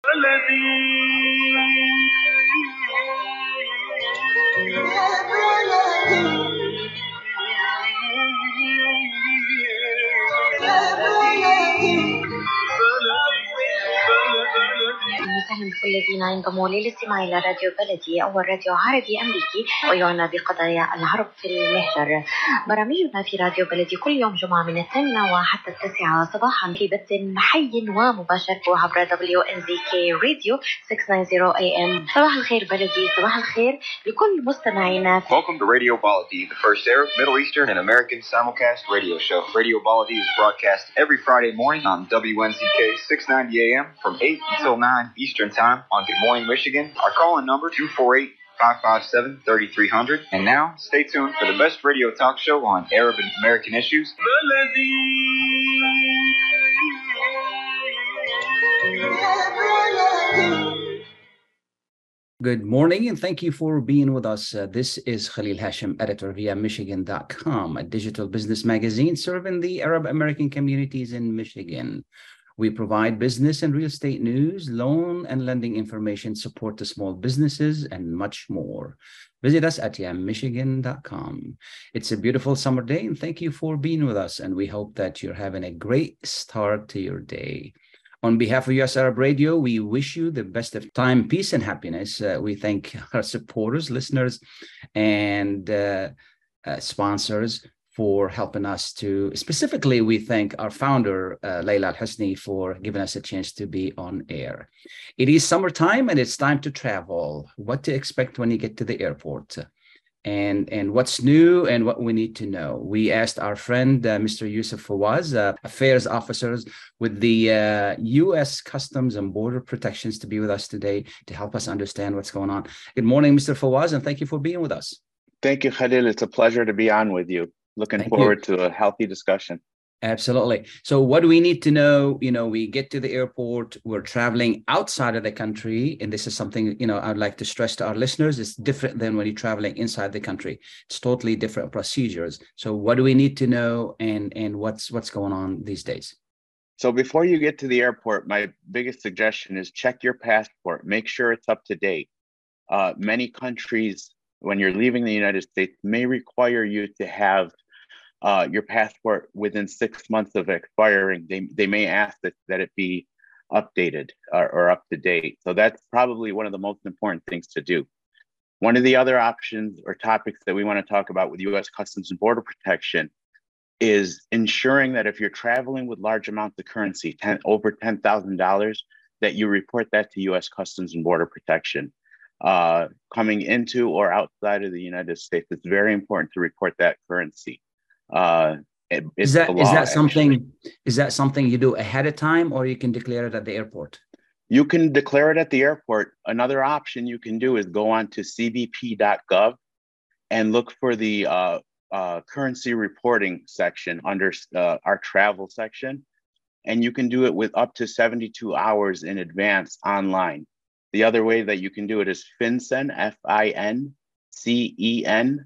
وسهلا بكل الذين ينضموا للاستماع إلى راديو بلدي، أول راديو عربي أمريكي ويعنى بقضايا العرب في المهجر. برامجنا في راديو بلدي كل يوم جمعة من 8 وحتى 9 صباحا في بث حي ومباشر عبر WNZK راديو 690 AM. صباح الخير بلدي، صباح الخير لكل مستمعينا. Welcome to Radio Baladi, the first Arab, Middle Eastern, and American simulcast radio show. Radio Baladi is broadcast every Friday morning on WNZK 690 AM from 8 until 9 Eastern Time on Good Morning Michigan. Our call-in number 248-557-3300. And now, stay tuned for the best radio talk show on Arab and American issues. Good morning, and thank you for being with us. This is Khalil Hashim, editor via Michigan.com, a digital business magazine serving the Arab American communities in Michigan. We provide business and real estate news, loan and lending information, support to small businesses, and much more. Visit us at yammichigan.com. It's a beautiful summer day, and thank you for being with us. And we hope that you're having a great start to your day. On behalf of US Arab Radio, we wish you the best of time, peace, and happiness. We thank our supporters, listeners, and sponsors for helping us to, specifically, we thank our founder, Layla Al-Husni, for giving us a chance to be on air. It is summertime and it's time to travel. What to expect when you get to the airport, and what's new and what we need to know. We asked our friend, Mr. Yusuf Fawaz, affairs officers with the U.S. Customs and Border Protections, to be with us today to help us understand what's going on. Good morning, Mr. Fawaz, and thank you for being with us. Thank you, Khalil. It's a pleasure to be on with you. Looking forward to a healthy discussion. Absolutely. So what do we need to know? You know, we get to the airport, we're traveling outside of the country. And this is something, you know, I'd like to stress to our listeners. It's different than when you're traveling inside the country. It's totally different procedures. So what do we need to know, and what's going on these days? So before you get to the airport, my biggest suggestion is check your passport. Make sure it's up to date. Many countries, when you're leaving the United States, may require you to have your passport within 6 months of expiring. They may ask that it be updated or up to date. So that's probably one of the most important things to do. One of the other options or topics that we want to talk about with U.S. Customs and Border Protection is ensuring that if you're traveling with large amounts of currency, over $10,000, that you report that to U.S. Customs and Border Protection. Coming into or outside of the United States, it's very important to report that currency. Is that something you do ahead of time, or you can declare it at the airport? You can declare it at the airport. Another option you can do is go on to cbp.gov and look for the currency reporting section under our travel section, and you can do it with up to 72 hours in advance online. The other way that you can do it is FinCEN, FINCEN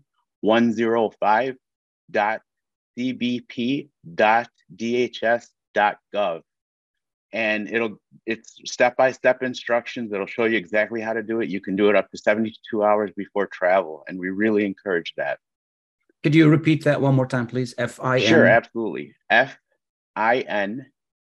105.cbp.dhs.gov. And it's step-by-step instructions. It'll show you exactly how to do it. You can do it up to 72 hours before travel, and we really encourage that. Could you repeat that one more time, please? FIN? Sure, absolutely. FINCEN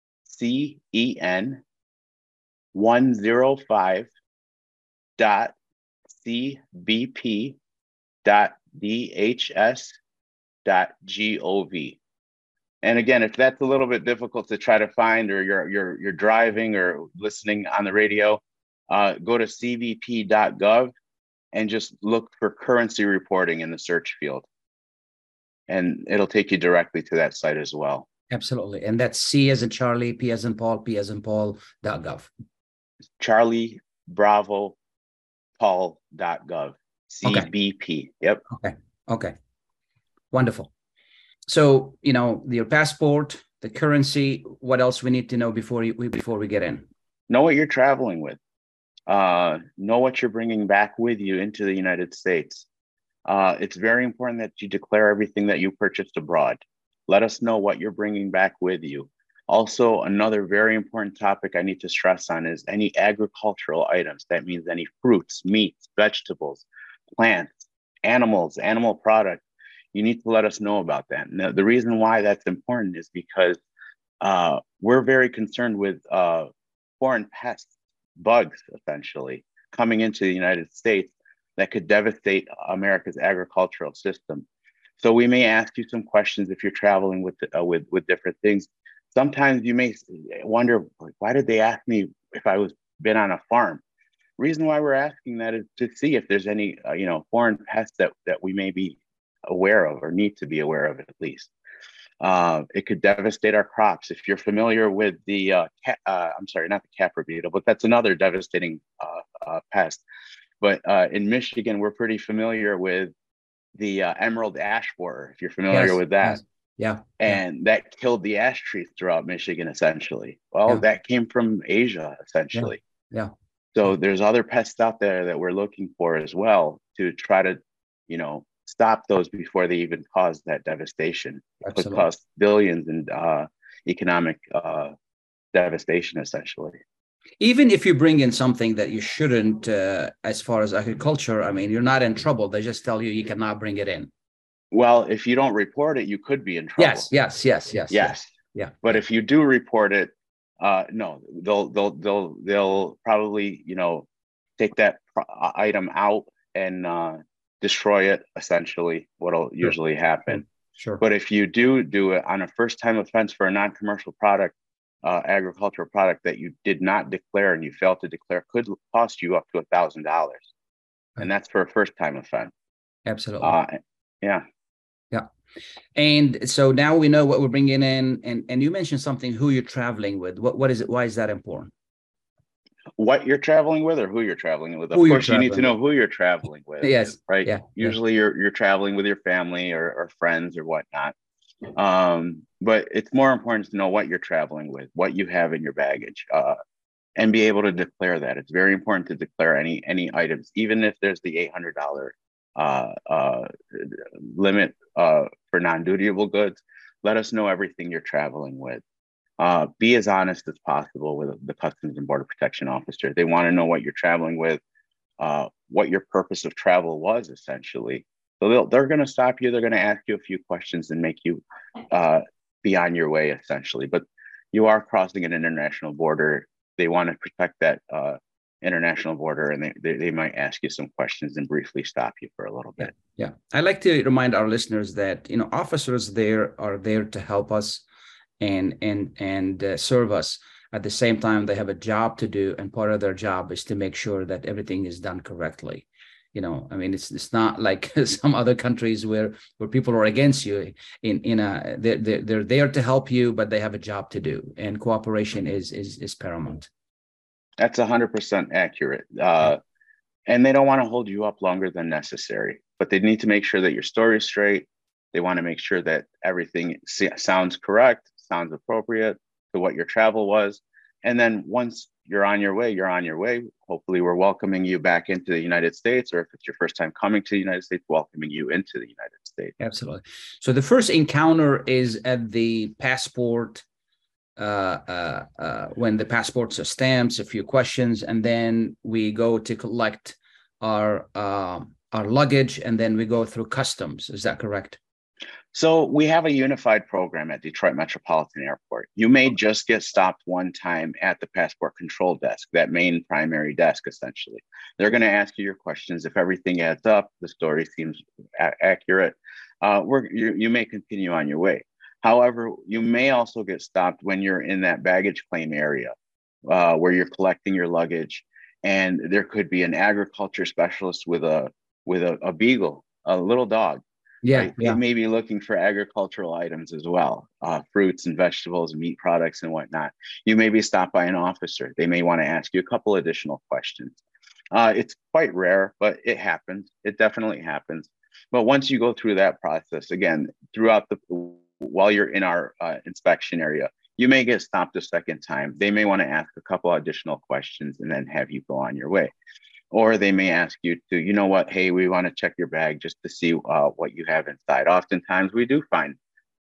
105.cbp.dhs.gov. And again, if that's a little bit difficult to try to find, or you're driving or listening on the radio, go to cbp.gov and just look for currency reporting in the search field. And it'll take you directly to that site as well. Absolutely. And that's C as in Charlie, P as in Paul, P as in Paul.gov. Charlie, Bravo, Paul.gov. CBP. Okay. Yep. Okay. Wonderful. So, you know, your passport, the currency, what else we need to know before we get in? Know what you're traveling with. Know what you're bringing back with you into the United States. It's very important that you declare everything that you purchased abroad. Let us know what you're bringing back with you. Also, another very important topic I need to stress on is any agricultural items. That means any fruits, meats, vegetables, plants, animals, animal products. You need to let us know about that. And the reason why that's important is because we're very concerned with foreign pests, bugs, essentially, coming into the United States that could devastate America's agricultural system. So we may ask you some questions if you're traveling with different things. Sometimes you may wonder, like, why did they ask me if I was been on a farm? Reason why we're asking that is to see if there's any foreign pests that we may be aware of or need to be aware of at least. It could devastate our crops. If you're familiar with the, I'm sorry, not the Capra beetle, but that's another devastating pest. But in Michigan, we're pretty familiar with the emerald ash borer, if you're familiar with that. Yes. Yeah. And that killed the ash trees throughout Michigan, essentially. Well, that came from Asia, essentially. Yeah. So there's other pests out there that we're looking for as well to try to, stop those before they even cause that devastation. It could cost billions in economic devastation, essentially. Even if you bring in something that you shouldn't, as far as agriculture, I mean, you're not in trouble. They just tell you cannot bring it in. Well, if you don't report it, you could be in trouble. Yes. Yeah. But if you do report it, no, they'll probably, take that item out and destroy it, essentially, what'll usually happen. Sure. But if you do it on a first-time offense for a non-commercial product, agricultural product that you did not declare and you failed to declare, could cost you up to $1,000. Right. And that's for a first-time offense. Absolutely. Yeah. And so now we know what we're bringing in, and you mentioned something, who you're traveling with. What is it? Why is that important? What you're traveling with or who you're traveling with? Of course, you need to know who you're traveling with. Yes. Right. Yeah. Usually you're traveling with your family or friends or whatnot. But it's more important to know what you're traveling with, what you have in your baggage, and be able to declare that. It's very important to declare any items, even if there's the $800 limit for non-dutiable goods. Let us know everything you're traveling with. Be as honest as possible with the Customs and Border Protection officer. They want to know what you're traveling with, what your purpose of travel was, essentially. So they're going to stop you. They're going to ask you a few questions and make you be on your way, essentially. But you are crossing an international border. They want to protect that international border, and they might ask you some questions and briefly stop you for a little bit. Yeah. I like to remind our listeners that officers are there to help us and serve us. At the same time, they have a job to do, and part of their job is to make sure that everything is done correctly. I mean, it's not like some other countries where people are against you. They're there to help you, but they have a job to do, and cooperation is paramount. That's 100% accurate. And they don't want to hold you up longer than necessary, but they need to make sure that your story is straight. They want to make sure that everything sounds correct, sounds appropriate to what your travel was. And then once you're on your way, you're on your way. Hopefully we're welcoming you back into the United States, or if it's your first time coming to the United States, welcoming you into the United States. Absolutely. So the first encounter is at the passport, when the passports are stamped, a few questions, and then we go to collect our luggage, and then we go through customs. Is that correct? So we have a unified program at Detroit Metropolitan Airport. You may just get stopped one time at the passport control desk, that main primary desk, essentially. They're going to ask you your questions. If everything adds up, the story seems accurate, you may continue on your way. However, you may also get stopped when you're in that baggage claim area where you're collecting your luggage, and there could be an agriculture specialist with a beagle, a little dog. Yeah, right? It may be looking for agricultural items as well, fruits and vegetables, meat products and whatnot. You may be stopped by an officer. They may want to ask you a couple additional questions. It's quite rare, but it happens. It definitely happens. But once you go through that process, again, while you're in our inspection area, you may get stopped a second time. They may want to ask a couple additional questions and then have you go on your way. Or they may ask you to, hey, we want to check your bag just to see what you have inside. Oftentimes we do find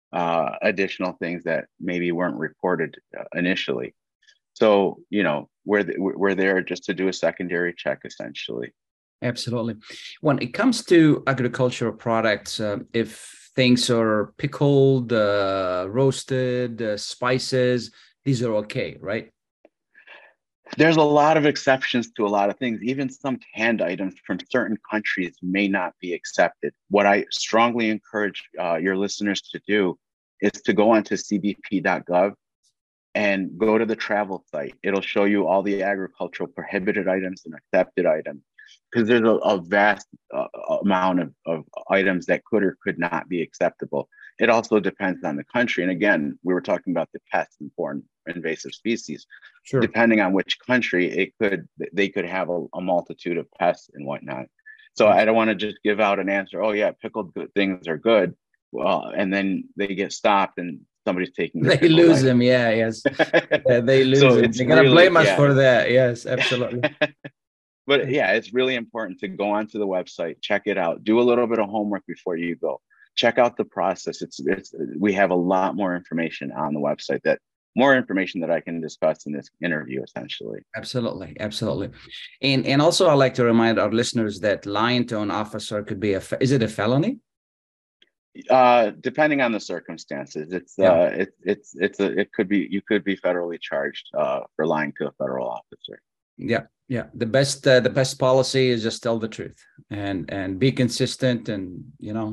additional things that maybe weren't reported initially. So, we're there just to do a secondary check, essentially. Absolutely. When it comes to agricultural products, if things are pickled, roasted, spices, these are okay, right? There's a lot of exceptions to a lot of things. Even some canned items from certain countries may not be accepted. What I strongly encourage your listeners to do is to go onto cbp.gov and go to the travel site. It'll show you all the agricultural prohibited items and accepted items, because there's a vast amount of items that could or could not be acceptable. It also depends on the country. And again, we were talking about the pests and foreign invasive species. Sure. Depending on which country, they could have a multitude of pests and whatnot. So I don't want to just give out an answer, oh yeah, pickled things are good. Well, and then they get stopped and somebody's taking They lose them. Yeah, yes. They lose So them. They're going to blame us for that. Yes, absolutely. But yeah, it's really important to go onto the website, check it out, do a little bit of homework before you go. Check out the process. We have a lot more information on the website, more information that I can discuss in this interview, essentially. Absolutely, absolutely. And also, I'd like to remind our listeners that lying to an officer could be is it a felony? Depending on the circumstances, it could be, you could be federally charged for lying to a federal officer. Yeah. The best policy is just tell the truth and be consistent, and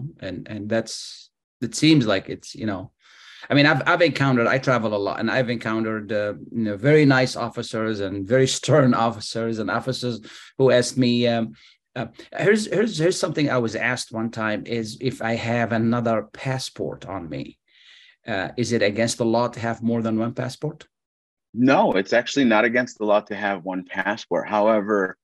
it seems like it's, I mean, I travel a lot, and I've encountered very nice officers and very stern officers, and officers who asked me, here's something I was asked one time, is if I have another passport on me, is it against the law to have more than one passport? No, it's actually not against the law to have one passport. However,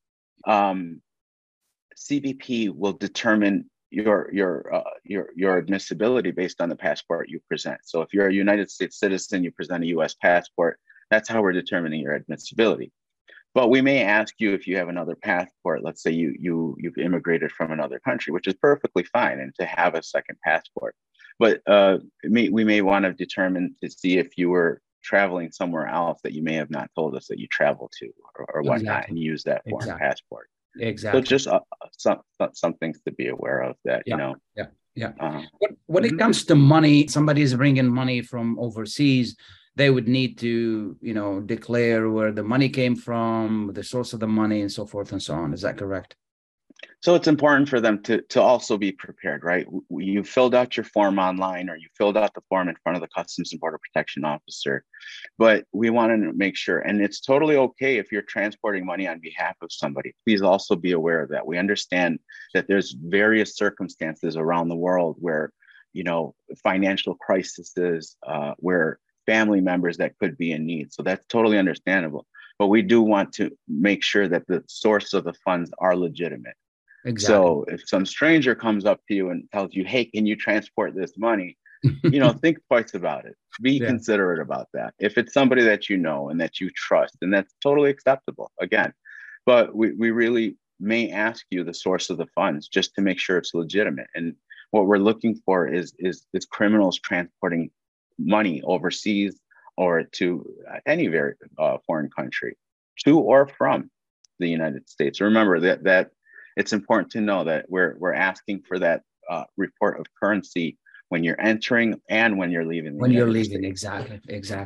CBP will determine your admissibility based on the passport you present. So if you're a United States citizen, you present a U.S. passport. That's how we're determining your admissibility. But we may ask you if you have another passport. Let's say you've immigrated from another country, which is perfectly fine, and to have a second passport. But we may want to determine to see if you were traveling somewhere else that you may have not told us that you travel to, or whatnot, exactly, and use that foreign passport. Exactly. So just some things to be aware of that, When it comes to money, somebody is bringing money from overseas, they would need to, declare where the money came from, the source of the money, and so forth and so on. Is that correct? So it's important for them to also be prepared, right? You filled out your form online, or you filled out the form in front of the Customs and Border Protection officer, but we want to make sure, and it's totally okay if you're transporting money on behalf of somebody. Please also be aware of that. We understand that there's various circumstances around the world where, financial crises, where family members that could be in need. So that's totally understandable. But we do want to make sure that the source of the funds are legitimate. Exactly. So if some stranger comes up to you and tells you, hey, can you transport this money? Think twice about it. Be considerate about that. If it's somebody that you know and that you trust, and that's totally acceptable, again. But we really may ask you the source of the funds just to make sure it's legitimate. And what we're looking for is criminals transporting money overseas or to any very foreign country, to or from the United States. Remember that it's important to know that we're asking for that report of currency when you're entering and when you're leaving. When you're leaving, exactly.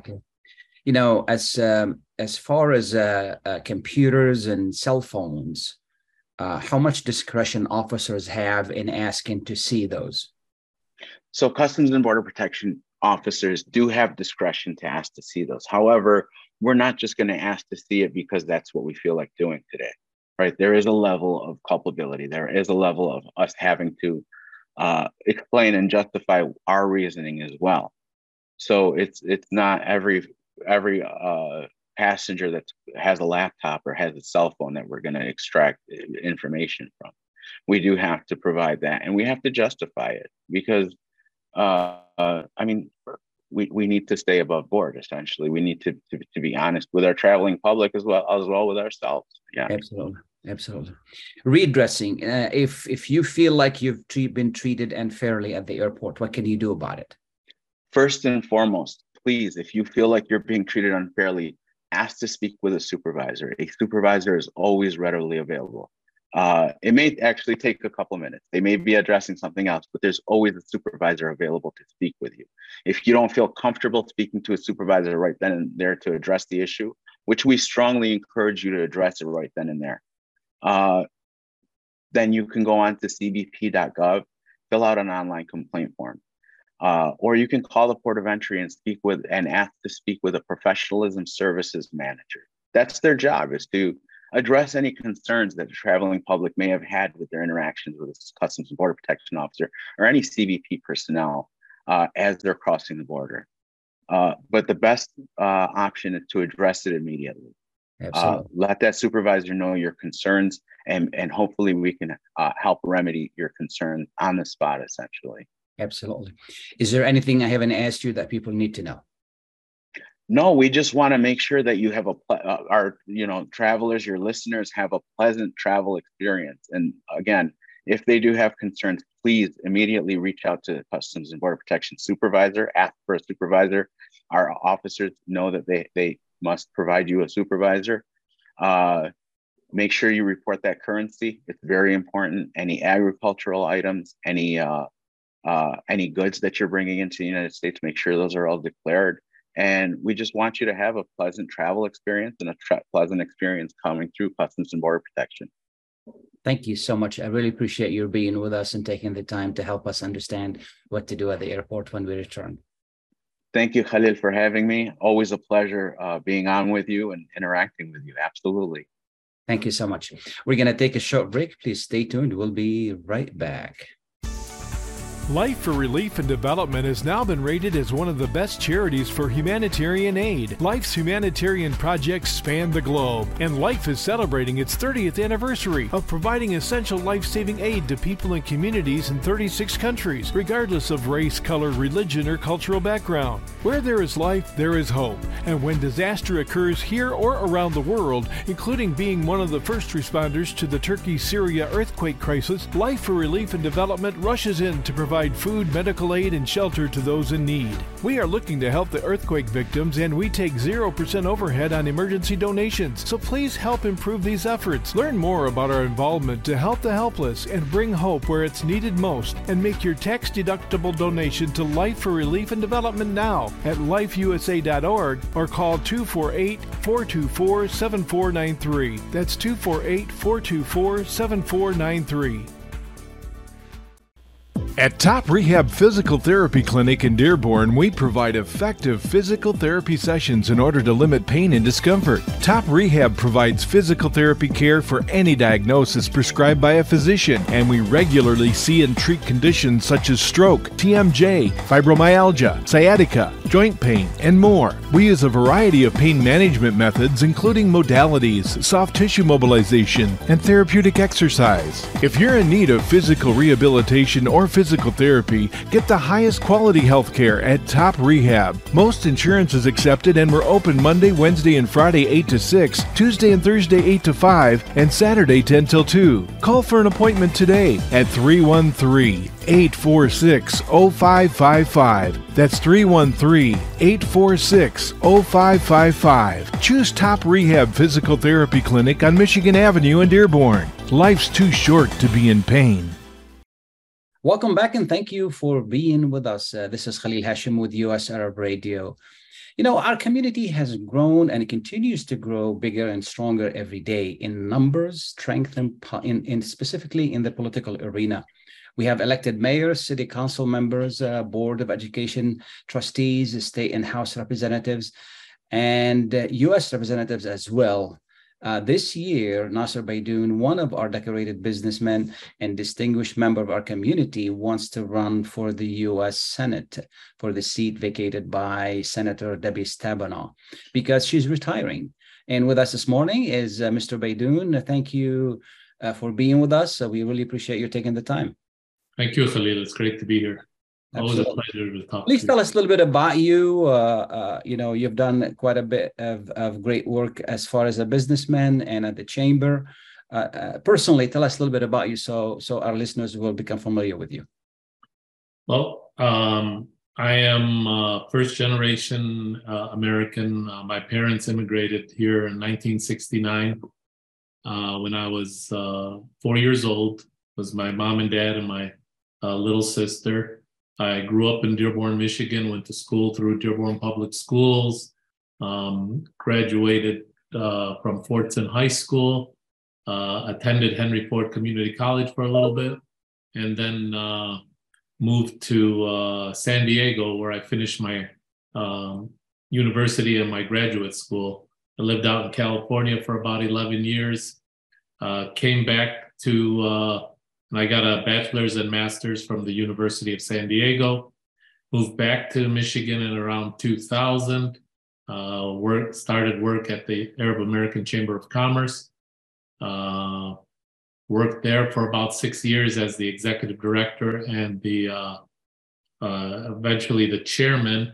As far as computers and cell phones, how much discretion officers have in asking to see those? So Customs and Border Protection officers do have discretion to ask to see those. However, we're not just going to ask to see it because that's what we feel like doing today, right? There is a level of culpability. There is a level of us having to explain and justify our reasoning as well. So it's not every passenger that has a laptop or has a cell phone that we're going to extract information from. We do have to provide that, and we have to justify it because we need to stay above board. Essentially, we need to be honest with our traveling public as well with ourselves. Yeah, absolutely. Redressing. If you feel like you've been treated unfairly at the airport, what can you do about it? First and foremost, please, if you feel like you're being treated unfairly, ask to speak with a supervisor. A supervisor is always readily available. It may actually take a couple minutes. They may be addressing something else, but there's always a supervisor available to speak with you. If you don't feel comfortable speaking to a supervisor right then and there to address the issue, which we strongly encourage you to address it right then and there, then you can go on to cbp.gov, fill out an online complaint form. Or you can call the Port of Entry and ask to speak with a professionalism services manager. That's their job, is to address any concerns that the traveling public may have had with their interactions with a Customs and Border Protection officer or any CBP personnel as they're crossing the border. But the best option is to address it immediately. Let that supervisor know your concerns, and hopefully we can help remedy your concern on the spot, essentially. Absolutely. Is there anything I haven't asked you that people need to know? No, we just want to make sure that you have our travelers, your listeners, have a pleasant travel experience. And again, if they do have concerns, please immediately reach out to Customs and Border Protection supervisor. Ask for a supervisor. Our officers know that they must provide you a supervisor. Make sure you report that currency. It's very important. Any agricultural items, any goods that you're bringing into the United States, make sure those are all declared. And we just want you to have a pleasant travel experience and a pleasant experience coming through Customs and Border Protection. Thank you so much. I really appreciate your being with us and taking the time to help us understand what to do at the airport when we return. Thank you, Khalil, for having me. Always a pleasure being on with you and interacting with you. Absolutely. Thank you so much. We're going to take a short break. Please stay tuned. We'll be right back. Life for Relief and Development has now been rated as one of the best charities for humanitarian aid. Life's humanitarian projects span the globe, and Life is celebrating its 30th anniversary of providing essential life-saving aid to people and communities in 36 countries, regardless of race, color, religion, or cultural background. Where there is life, there is hope. And when disaster occurs here or around the world, including being one of the first responders to the Turkey-Syria earthquake crisis, Life for Relief and Development rushes in to provide food, medical aid, and shelter to those in need. We are looking to help the earthquake victims, and we take 0% overhead on emergency donations. So please help improve these efforts. Learn more about our involvement to help the helpless and bring hope where it's needed most, and make your tax-deductible donation to Life for Relief and Development now at lifeusa.org or call 248-424-7493. That's 248-424-7493. At Top Rehab Physical Therapy Clinic in Dearborn, we provide effective physical therapy sessions in order to limit pain and discomfort. Top Rehab provides physical therapy care for any diagnosis prescribed by a physician, and we regularly see and treat conditions such as stroke, TMJ, fibromyalgia, sciatica, joint pain, and more. We use a variety of pain management methods, including modalities, soft tissue mobilization, and therapeutic exercise. If you're in need of physical rehabilitation or physical therapy, get the highest quality health care at Top Rehab. Most insurance is accepted, and we're open Monday, Wednesday, and Friday 8 to 6, Tuesday and Thursday 8 to 5, and Saturday 10 till 2. Call for an appointment today at 313-846-0555. That's 313-846-0555. Choose Top Rehab Physical Therapy Clinic on Michigan Avenue in Dearborn. Life's too short to be in pain. Welcome back, and thank you for being with us. This is Khalil Hashim with US Arab Radio. You know, our community has grown and continues to grow bigger and stronger every day in numbers, strength, and specifically in the political arena. We have elected mayors, city council members, board of education trustees, state and house representatives, and U.S. representatives as well. This year, Nasser Baidoun, one of our decorated businessmen and distinguished member of our community, wants to run for the U.S. Senate for the seat vacated by Senator Debbie Stabenow because she's retiring. And with us this morning is Mr. Baidoun. Thank you for being with us. We really appreciate you taking the time. Thank you, Khalil. It's great to be here. Absolutely. Always a pleasure to talk. Please tell us a little bit about you. You've done quite a bit of great work as far as a businessman and at the chamber. Personally, tell us a little bit about you so our listeners will become familiar with you. Well, I am first generation American. My parents immigrated here in 1969 when I was 4 years old. It was my mom and dad and my little sister. I grew up in Dearborn, Michigan, went to school through Dearborn Public Schools, graduated from Fortson High School, attended Henry Ford Community College for a little bit, and then moved to San Diego, where I finished my university and my graduate school. I lived out in California for about 11 years, came back to, and I got a bachelor's and master's from the University of San Diego, moved back to Michigan in around 2000, started work at the Arab American Chamber of Commerce, worked there for about 6 years as the executive director and the eventually the chairman.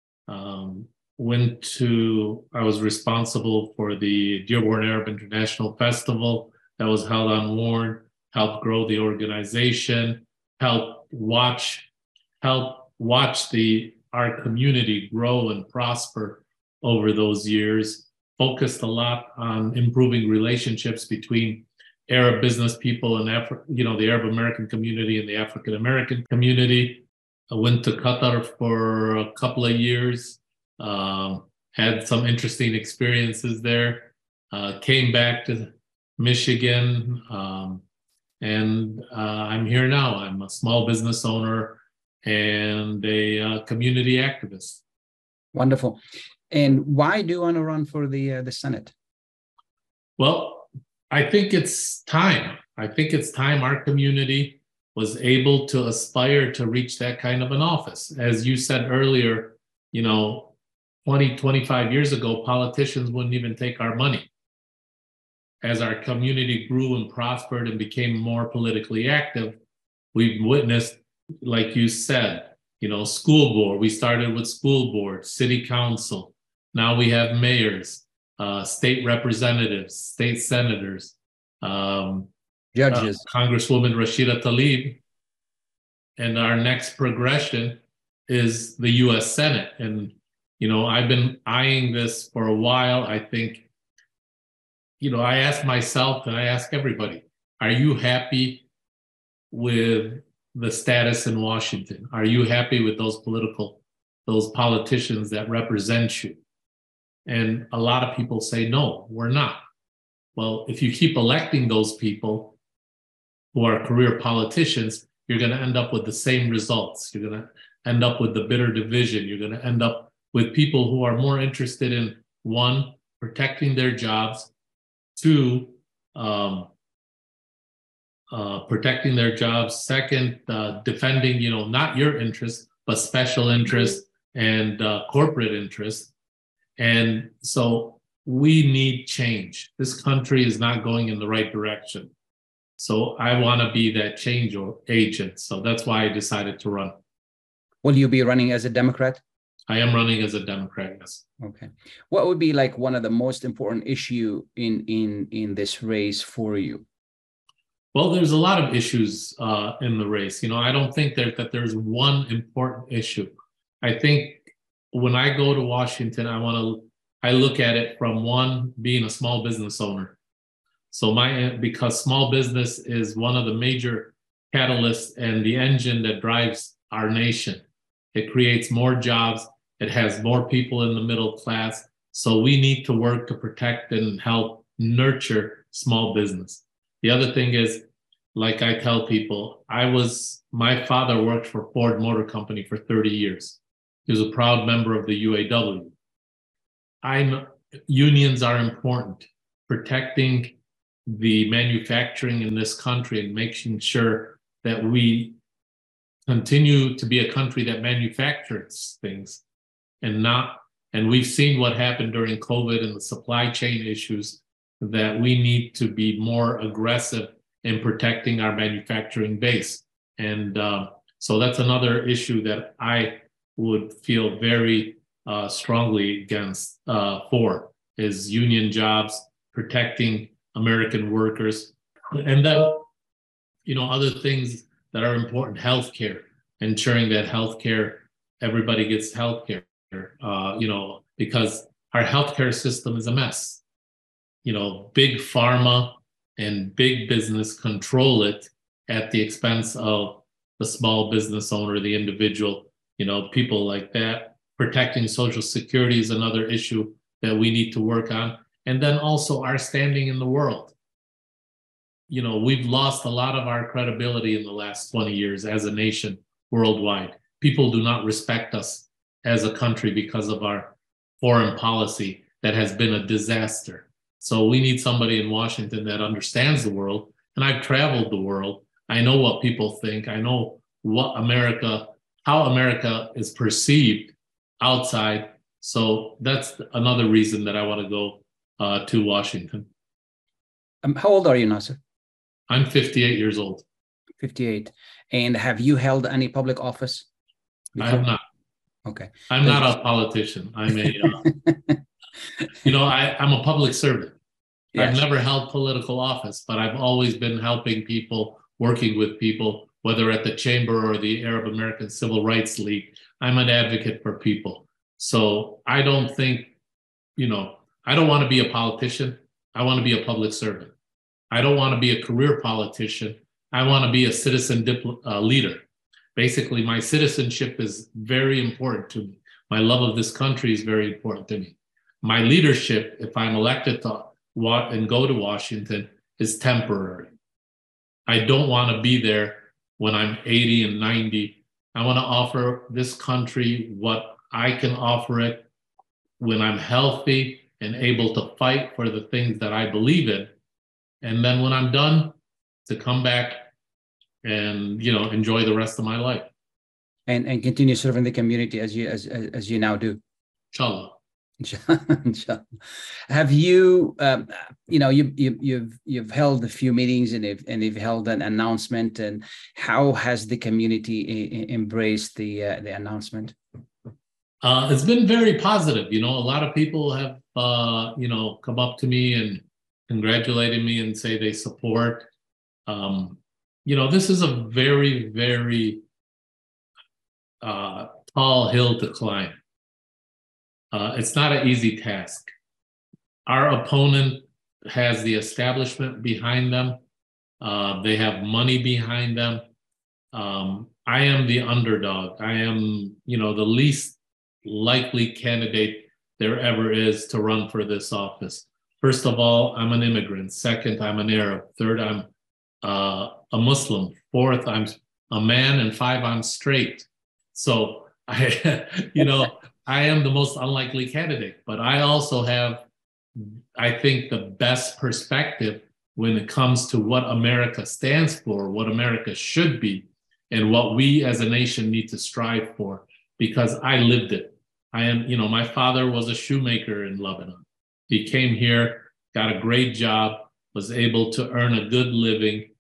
I was responsible for the Dearborn Arab International Festival that was held on Warren, helped grow the organization, helped watch our community grow and prosper over those years, focused a lot on improving relationships between Arab business people and the Arab American community and the African American community. I went to Qatar for a couple of years, had some interesting experiences there, came back to Michigan, and I'm here now. I'm a small business owner and a community activist. Wonderful. And why do you want to run for the Senate? Well, I think it's time. I think it's time our community was able to aspire to reach that kind of an office. As you said earlier, 20, 25 years ago, politicians wouldn't even take our money. As our community grew and prospered and became more politically active, we've witnessed, like you said, school board. We started with school board, city council. Now we have mayors, state representatives, state senators, judges, Congresswoman Rashida Tlaib, and our next progression is the U.S. Senate. And I've been eyeing this for a while. I think, I ask myself and I ask everybody, are you happy with the status in Washington? Are you happy with those politicians that represent you? And a lot of people say, no, we're not. Well, if you keep electing those people who are career politicians, you're going to end up with the same results. You're going to end up with the bitter division. You're going to end up with people who are more interested in, one, protecting their jobs, two, protecting their jobs, second, defending, not your interests, but special interests and corporate interests. And so we need change. This country is not going in the right direction. So I want to be that change agent. So that's why I decided to run. Will you be running as a Democrat? I am running as a Democrat, yes. Okay. What would be like one of the most important issue in this race for you? Well, there's a lot of issues in the race. I don't think that there's one important issue. I think when I go to Washington, I look at it from one, being a small business owner. So because small business is one of the major catalysts and the engine that drives our nation. It creates more jobs. It has more people in the middle class. So we need to work to protect and help nurture small business. The other thing is, like I tell people, my father worked for Ford Motor Company for 30 years. He was a proud member of the UAW. Unions are important. Protecting the manufacturing in this country and making sure that we continue to be a country that manufactures things and we've seen what happened during COVID and the supply chain issues, that we need to be more aggressive in protecting our manufacturing base. And so that's another issue that I would feel very strongly against for, is union jobs, protecting American workers, and then, other things that are important, healthcare, ensuring that healthcare everybody gets healthcare, because our healthcare system is a mess. Big pharma and big business control it at the expense of the small business owner, the individual, people like that. Protecting Social Security is another issue that we need to work on. And then also our standing in the world. We've lost a lot of our credibility in the last 20 years as a nation worldwide. People do not respect us as a country because of our foreign policy that has been a disaster. So we need somebody in Washington that understands the world. And I've traveled the world. I know what people think. I know how America is perceived outside. So that's another reason that I want to go to Washington. How old are you, Nasser? I'm 58 years old. 58. And have you held any public office before? I have not. Okay. I'm not a politician. I'm I'm a public servant. Yes. I've never held political office, but I've always been helping people, working with people, whether at the Chamber or the Arab American Civil Rights League. I'm an advocate for people. So I don't think, I don't want to be a politician. I want to be a public servant. I don't want to be a career politician. I want to be a citizen leader. Basically, my citizenship is very important to me. My love of this country is very important to me. My leadership, if I'm elected to and go to Washington, is temporary. I don't want to be there when I'm 80 and 90. I want to offer this country what I can offer it when I'm healthy and able to fight for the things that I believe in. And then when I'm done, to come back and enjoy the rest of my life. And continue serving the community as you now do. Inshallah. Inshallah. Have you you've held a few meetings and you've held an announcement, and how has the community embraced the announcement? It's been very positive. A lot of people have come up to me and congratulated me and say they support. This is a very, very tall hill to climb. It's not an easy task. Our opponent has the establishment behind them. They have money behind them. I am the underdog. I am, the least likely candidate there ever is to run for this office. First of all, I'm an immigrant. Second, I'm an Arab. Third, I'm a Muslim. Fourth, I'm a man. And five, I'm straight. So I am the most unlikely candidate, but I also have, I think, the best perspective when it comes to what America stands for, what America should be, and what we as a nation need to strive for, because I lived it. My father was a shoemaker in Lebanon. He came here, got a great job, was able to earn a good living.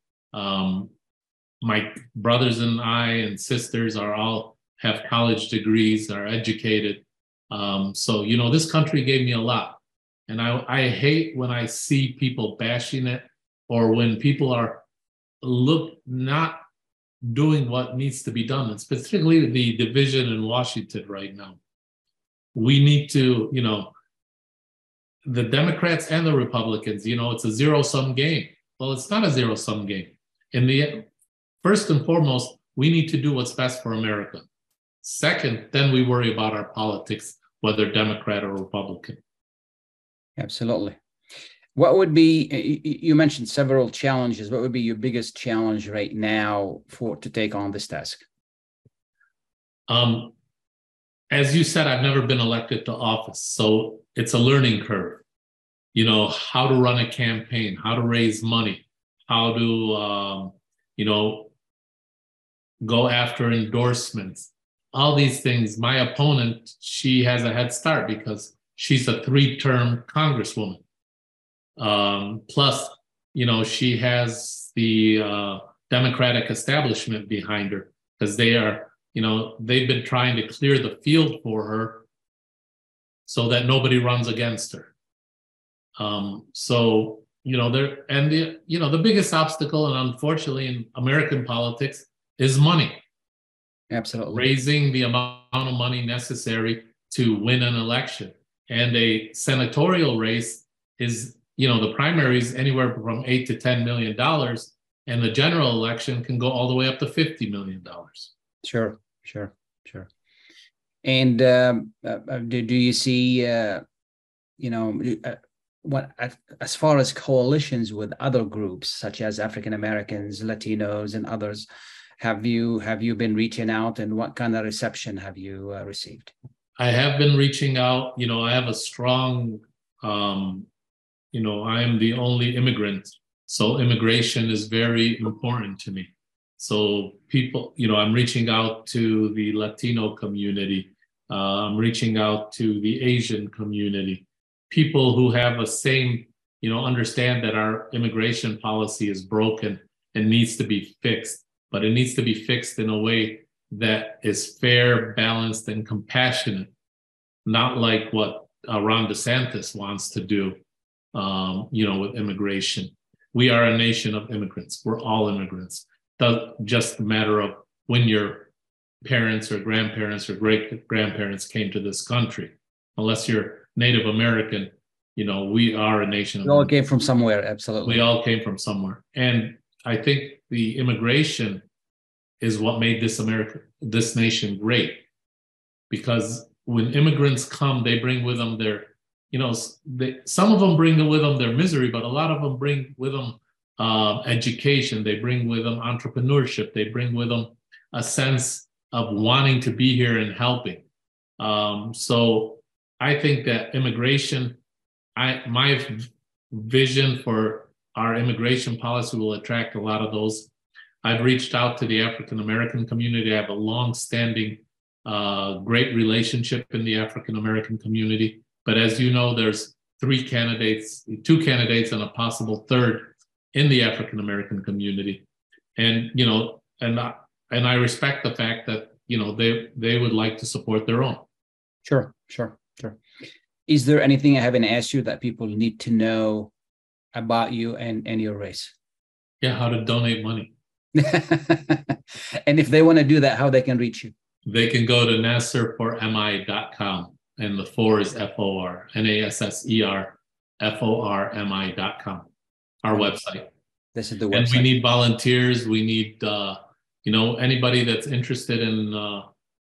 My brothers and I and sisters have college degrees, are educated. So this country gave me a lot. And I hate when I see people bashing it, or when people are not doing what needs to be done, and specifically the division in Washington right now. We need to, the Democrats and the Republicans, it's a zero-sum game. Well, it's not a zero-sum game. First and foremost, we need to do what's best for America. Second, then we worry about our politics, whether Democrat or Republican. Absolutely. What would be, you mentioned several challenges. What would be your biggest challenge right now to take on this task? As you said, I've never been elected to office, so it's a learning curve. How to run a campaign, how to raise money, how to, go after endorsements, all these things. My opponent, she has a head start because she's a 3-term congresswoman. Plus, she has the Democratic establishment behind her, because they are, they've been trying to clear the field for her so that nobody runs against her. The biggest obstacle, and unfortunately in American politics, is money. Absolutely. Raising the amount of money necessary to win an election. And a senatorial race is, the primary is anywhere from $8 to $10 million, and the general election can go all the way up to $50 million. Sure. And do you see, what as far as coalitions with other groups such as African Americans, Latinos, and others, have you been reaching out, and what kind of reception have you received? I have been reaching out. I have a strong, I am the only immigrant, so immigration is very important to me. So people, I'm reaching out to the Latino community. I'm reaching out to the Asian community. People who have a same, understand that our immigration policy is broken and needs to be fixed, but it needs to be fixed in a way that is fair, balanced, and compassionate, not like what Ron DeSantis wants to do, with immigration. We are a nation of immigrants. We're all immigrants. It's just a matter of when your parents or grandparents or great-grandparents came to this country. Unless you're Native American, we are a nation of We all came from somewhere, absolutely. We all came from somewhere. And I think the immigration is what made this nation great. Because when immigrants come, they bring with them some of them bring with them their misery, but a lot of them bring with them education. They bring with them entrepreneurship. They bring with them a sense of wanting to be here and helping. So I think that immigration, my vision for our immigration policy will attract a lot of those. I've reached out to the African American community. I have a long-standing, great relationship in the African American community. But as you know, there's two candidates and a possible third in the African American community. And, and I respect the fact that, they would like to support their own. Sure. Is there anything I haven't asked you that people need to know about you and your race? Yeah, how to donate money. And if they want to do that, how they can reach you? They can go to nasserformi.com, and the 4 is FOR, NASSER, our website. This is the website. And we need volunteers. We need, anybody that's interested in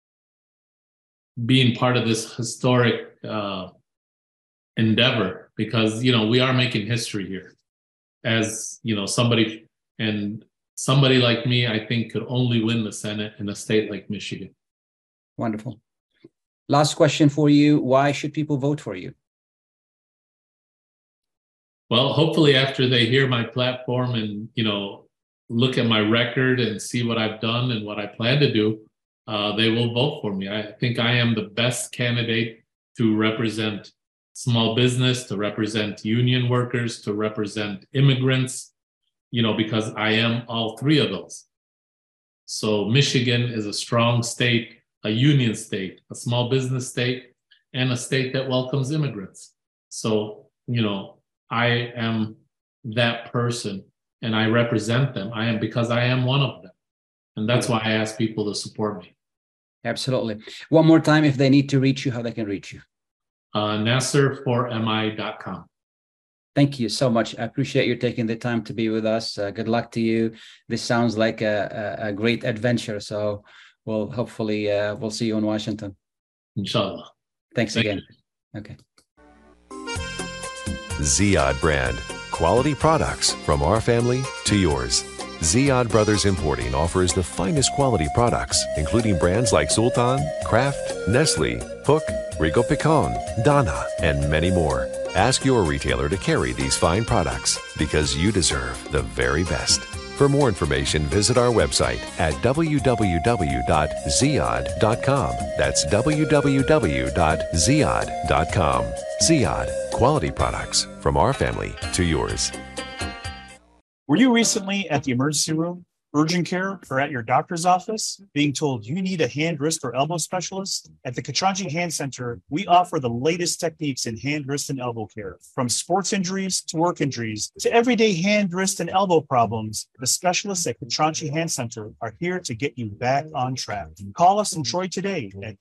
being part of this historic endeavor, because, we are making history here. As, somebody like me, I think, could only win the Senate in a state like Michigan. Wonderful. Last question for you. Why should people vote for you? Well, hopefully after they hear my platform and, look at my record and see what I've done and what I plan to do, they will vote for me. I think I am the best candidate to represent small business, to represent union workers, to represent immigrants, because I am all three of those. So Michigan is a strong state, a union state, a small business state, and a state that welcomes immigrants. So, I am that person and I represent them. Because I am one of them. And that's why I ask people to support me. Absolutely. One more time, if they need to reach you, how they can reach you? nasserformi.com. Thank you so much. I appreciate you taking the time to be with us. Good luck to you. This sounds like a great adventure. So hopefully we'll see you in Washington. Inshallah. Thanks again. Okay. Ziyad brand. Quality products from our family to yours. Ziyad Brothers Importing offers the finest quality products, including brands like Sultan, Kraft, Nestle, Hook, Rico Picon, Donna, and many more. Ask your retailer to carry these fine products because you deserve the very best. For more information, visit our website at www.ziyad.com. That's www.ziyad.com. Ziyad, quality products from our family to yours. Were you recently at the emergency room? urgent care, or at your doctor's office, being told you need a hand, wrist, or elbow specialist? At the Katranji Hand Center, we offer the latest techniques in hand, wrist, and elbow care. From sports injuries to work injuries to everyday hand, wrist, and elbow problems, the specialists at Katranji Hand Center are here to get you back on track. Call us in Troy today at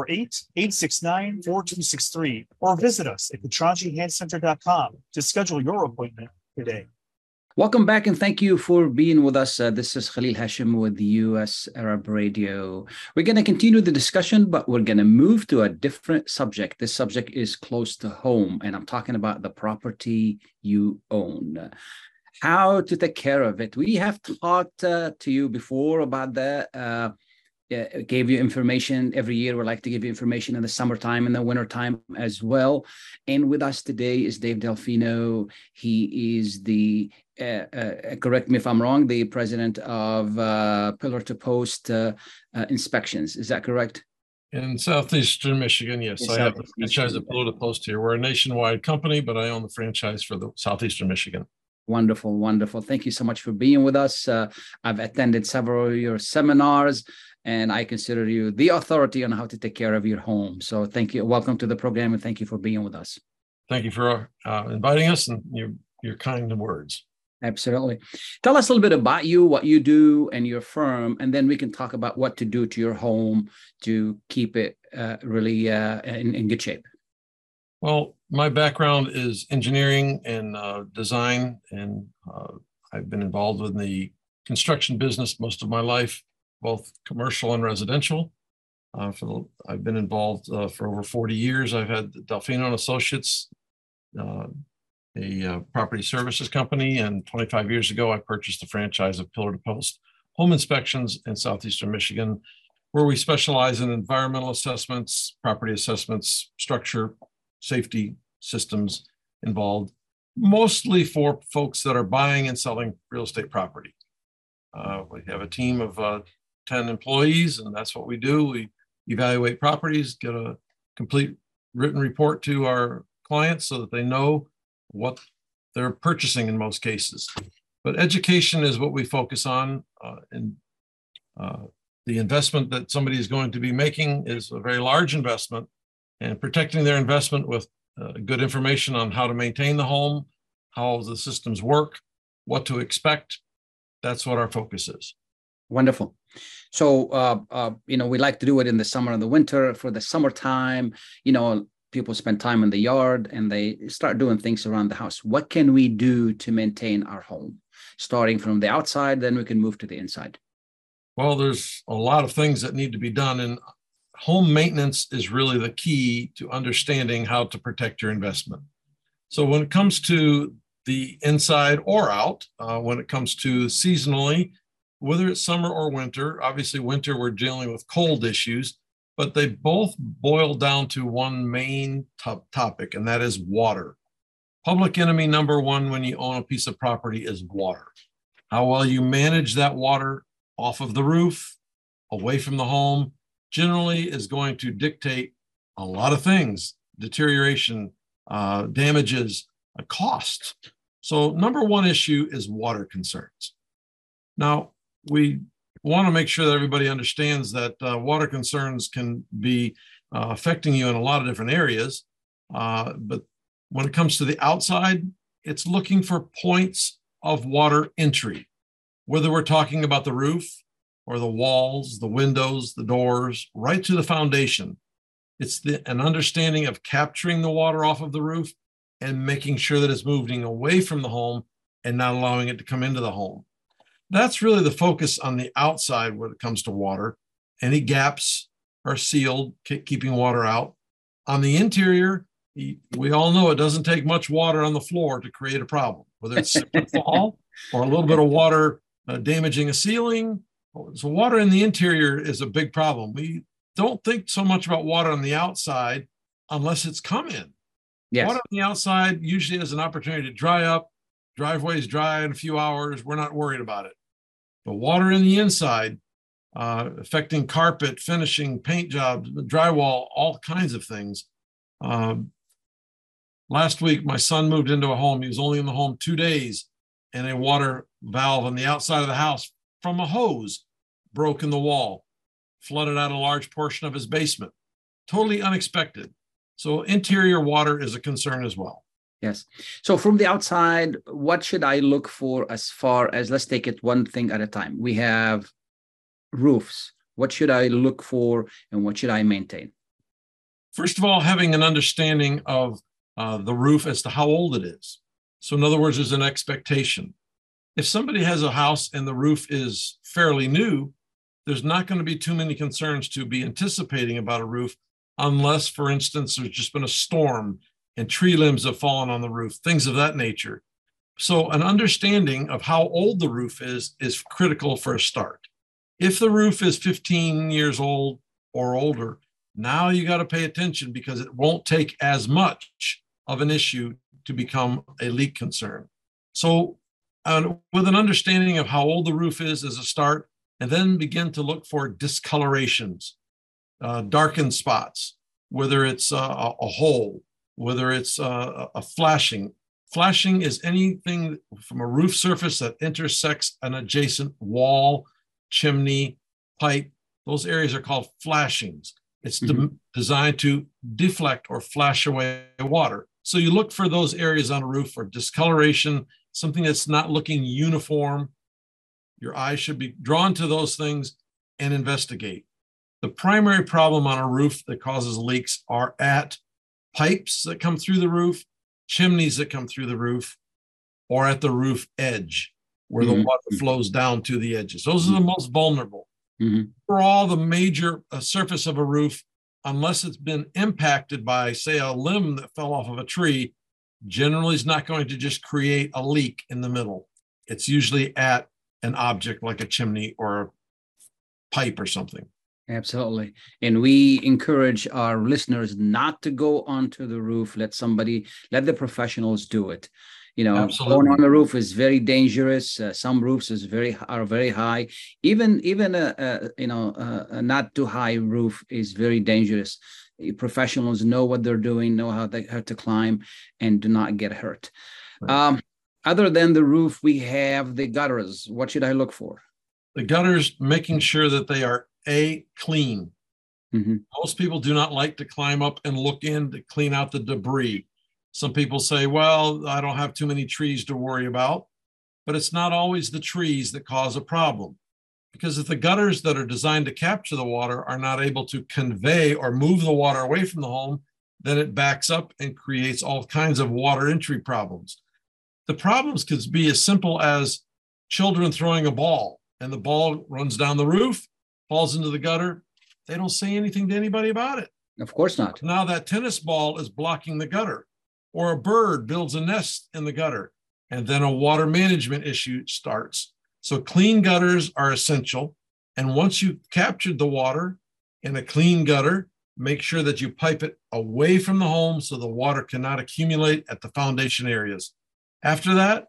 248-869-4263 or visit us at KatranjiHandCenter.com to schedule your appointment today. Welcome back and thank you for being with us. This is Khalil Hashim with the US Arab Radio. We're going to continue the discussion, but we're going to move to a different subject. This subject is close to home, and I'm talking about the property you own. How to take care of it. We have talked to you before about that. Gave you information every year. We like to give you information in the summertime and the wintertime as well. And with us today is Dave Delfino. He is the, correct me if I'm wrong, the president of Pillar to Post Inspections. Is that correct? In Southeastern Michigan, yes. I have the franchise of Pillar to Post here. We're a nationwide company, but I own the franchise for the Southeastern Michigan. Wonderful, wonderful. Thank you so much for being with us. I've attended several of your seminars, and I consider you the authority on how to take care of your home. So thank you. Welcome to the program, and thank you for being with us. Thank you for inviting us and your kind words. Absolutely. Tell us a little bit about you, what you do, and your firm, and then we can talk about what to do to your home to keep it really in good shape. Well, my background is engineering and design, and I've been involved in the construction business most of my life, both commercial and residential. I've been involved for over 40 years. I've had Delfino and Associates, a property services company, and 25 years ago, I purchased the franchise of Pillar to Post Home Inspections in Southeastern Michigan, where we specialize in environmental assessments, property assessments, structure, safety systems involved, mostly for folks that are buying and selling real estate property. We have a team of 10 employees, and that's what we do. We evaluate properties, get a complete written report to our clients so that they know what they're purchasing in most cases. But education is what we focus on, and the investment that somebody is going to be making is a very large investment, and protecting their investment with good information on how to maintain the home, how the systems work, what to expect. That's what our focus is. Wonderful. So, we like to do it in the summer and the winter. For the summertime, people spend time in the yard and they start doing things around the house. What can we do to maintain our home? Starting from the outside, then we can move to the inside. Well, there's a lot of things that need to be done, and home maintenance is really the key to understanding how to protect your investment. So when it comes to the inside or out, when it comes to seasonally, whether it's summer or winter, obviously winter we're dealing with cold issues, but they both boil down to one main topic, and that is water. Public enemy number one when you own a piece of property is water. How well you manage that water off of the roof, away from the home, generally is going to dictate a lot of things: deterioration, damages, cost. So number one issue is water concerns. Now, we want to make sure that everybody understands that water concerns can be affecting you in a lot of different areas. But when it comes to the outside, it's looking for points of water entry, whether we're talking about the roof or the walls, the windows, the doors, right to the foundation. It's an understanding of capturing the water off of the roof and making sure that it's moving away from the home and not allowing it to come into the home. That's really the focus on the outside when it comes to water. Any gaps are sealed, keeping water out. On the interior, we all know it doesn't take much water on the floor to create a problem, whether it's slip and fall or a little bit of water damaging a ceiling. So water in the interior is a big problem. We don't think so much about water on the outside unless it's come in. Yes. Water on the outside usually has an opportunity to dry up. Driveway's dry in a few hours. We're not worried about it. But water in the inside, affecting carpet, finishing, paint jobs, drywall, all kinds of things. Last week, my son moved into a home. He was only in the home 2 days, and a water valve on the outside of the house from a hose broke in the wall, flooded out a large portion of his basement. Totally unexpected. So interior water is a concern as well. Yes. So from the outside, what should I look for as far as, let's take it one thing at a time. We have roofs. What should I look for and what should I maintain? First of all, having an understanding of the roof as to how old it is. So in other words, there's an expectation. If somebody has a house and the roof is fairly new, there's not going to be too many concerns to be anticipating about a roof unless, for instance, there's just been a storm and tree limbs have fallen on the roof, things of that nature. So an understanding of how old the roof is critical for a start. If the roof is 15 years old or older, now you got to pay attention because it won't take as much of an issue to become a leak concern. So with an understanding of how old the roof is as a start, and then begin to look for discolorations, darkened spots, whether it's a hole, whether it's a flashing. Flashing is anything from a roof surface that intersects an adjacent wall, chimney, pipe. Those areas are called flashings. It's designed to deflect or flash away water. So you look for those areas on a roof for discoloration, something that's not looking uniform. Your eyes should be drawn to those things and investigate. The primary problem on a roof that causes leaks are at pipes that come through the roof, chimneys that come through the roof, or at the roof edge where the water flows down to the edges. Those are the most vulnerable. For all the major surface of a roof, unless it's been impacted by, say, a limb that fell off of a tree, generally is not going to just create a leak in the middle. It's usually at an object like a chimney or a pipe or something. Absolutely. And we encourage our listeners not to go onto the roof. Let the professionals do it. You know, Absolutely. Going on the roof is very dangerous. Some roofs are very high. Even a not too high roof is very dangerous. Professionals know what they're doing, know how to climb, and do not get hurt. Right. Other than the roof, we have the gutters. What should I look for? The gutters, making sure that they are clean. Most people do not like to climb up and look in to clean out the debris. Some people say, well, I don't have too many trees to worry about, but it's not always the trees that cause a problem. Because if the gutters that are designed to capture the water are not able to convey or move the water away from the home, then it backs up and creates all kinds of water entry problems. The problems could be as simple as children throwing a ball and the ball runs down the roof, falls into the gutter. They don't say anything to anybody about it. Of course not. Now that tennis ball is blocking the gutter, or a bird builds a nest in the gutter, and then a water management issue starts. So clean gutters are essential. And once you've captured the water in a clean gutter, make sure that you pipe it away from the home so the water cannot accumulate at the foundation areas. After that,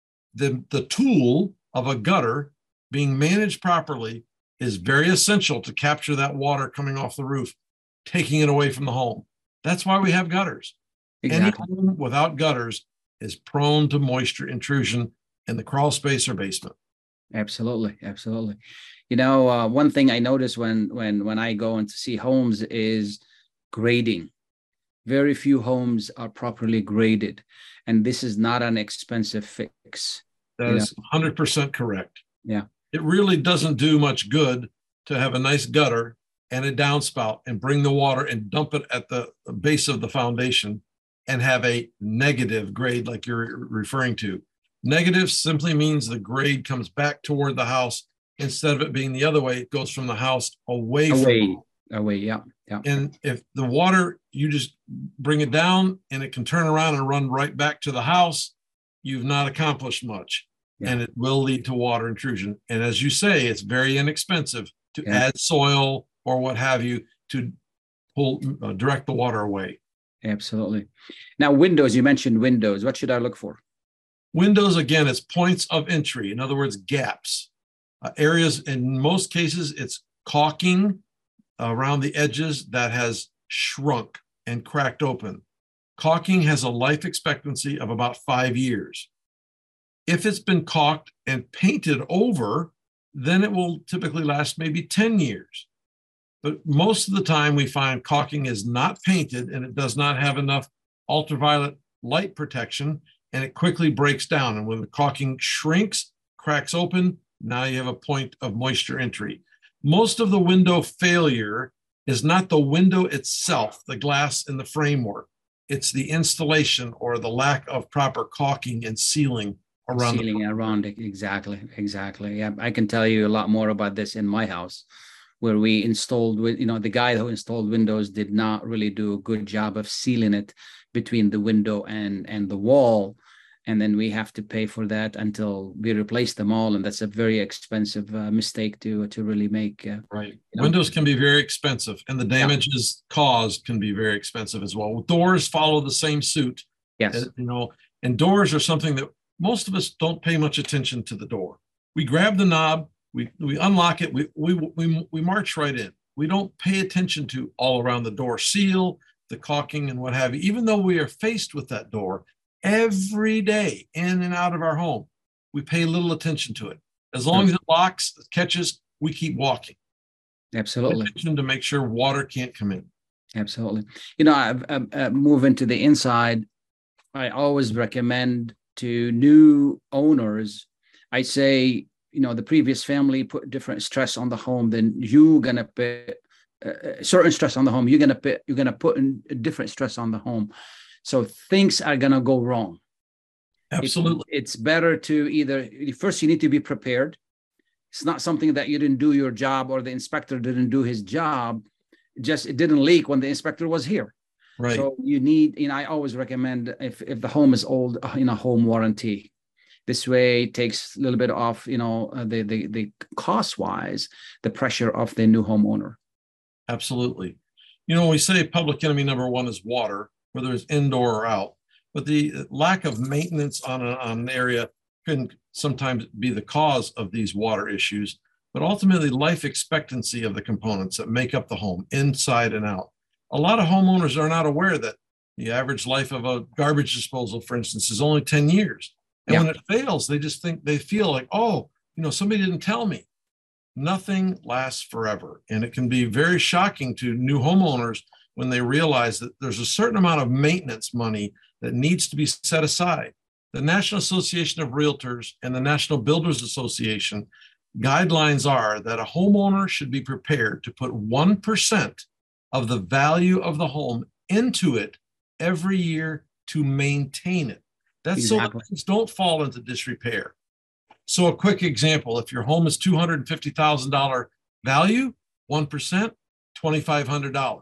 the tool of a gutter being managed properly is very essential to capture that water coming off the roof, taking it away from the home. That's why we have gutters. Exactly. Any home without gutters is prone to moisture intrusion in the crawl space or basement. Absolutely. Absolutely. You know, one thing I notice when I go in to see homes is grading. Very few homes are properly graded, and this is not an expensive fix. That is 100% correct. Yeah. It really doesn't do much good to have a nice gutter and a downspout and bring the water and dump it at the base of the foundation and have a negative grade like you're referring to. Negative simply means the grade comes back toward the house instead of it being the other way. It goes from the house away. Yeah. And if the water, you just bring it down and it can turn around and run right back to the house, you've not accomplished much. Yeah. And it will lead to water intrusion. And as you say, it's very inexpensive to add soil or what have you to direct the water away. Absolutely. Now, windows, you mentioned windows. What should I look for? Windows, again, it's points of entry. In other words, gaps. Areas, in most cases, it's caulking around the edges that has shrunk and cracked open. Caulking has a life expectancy of about 5 years. If it's been caulked and painted over, then it will typically last maybe 10 years. But most of the time we find caulking is not painted and it does not have enough ultraviolet light protection, and it quickly breaks down. And when the caulking shrinks, cracks open, now you have a point of moisture entry. Most of the window failure is not the window itself, the glass in the framework. It's the installation or the lack of proper caulking and sealing around around it. Exactly. Yeah, I can tell you a lot more about this in my house, where we installed, the guy who installed windows did not really do a good job of sealing it between the window and the wall. And then we have to pay for that until we replace them all. And that's a very expensive mistake to really make. Right. Windows can be very expensive, and the damages caused can be very expensive as well. Doors follow the same suit. Yes. And doors are something that most of us don't pay much attention to the door. We grab the knob, we unlock it, we march right in. We don't pay attention to all around the door seal, the caulking and what have you, even though we are faced with that door every day in and out of our home. We pay little attention to it. As long as it locks, catches, we keep walking. Absolutely. To make sure water can't come in. Absolutely. I move into the inside. I always recommend to new owners, I say, the previous family put different stress on the home, then you're going to put certain stress on the home. You're going to put in a different stress on the home. So things are going to go wrong. Absolutely. It's better to first you need to be prepared. It's not something that you didn't do your job or the inspector didn't do his job. Just it didn't leak when the inspector was here. Right. So you need, I always recommend if the home is old, home warranty. This way it takes a little bit off, the cost-wise, the pressure of the new homeowner. Absolutely. We say public enemy number one is water, whether it's indoor or out. But the lack of maintenance on an area can sometimes be the cause of these water issues. But ultimately, life expectancy of the components that make up the home, inside and out. A lot of homeowners are not aware that the average life of a garbage disposal, for instance, is only 10 years. And when it fails, they feel like, somebody didn't tell me. Nothing lasts forever. And it can be very shocking to new homeowners when they realize that there's a certain amount of maintenance money that needs to be set aside. The National Association of Realtors and the National Builders Association guidelines are that a homeowner should be prepared to put 1% of the value of the home into it every year to maintain it. That's so that things don't fall into disrepair. So a quick example, if your home is $250,000 value, 1%, $2,500.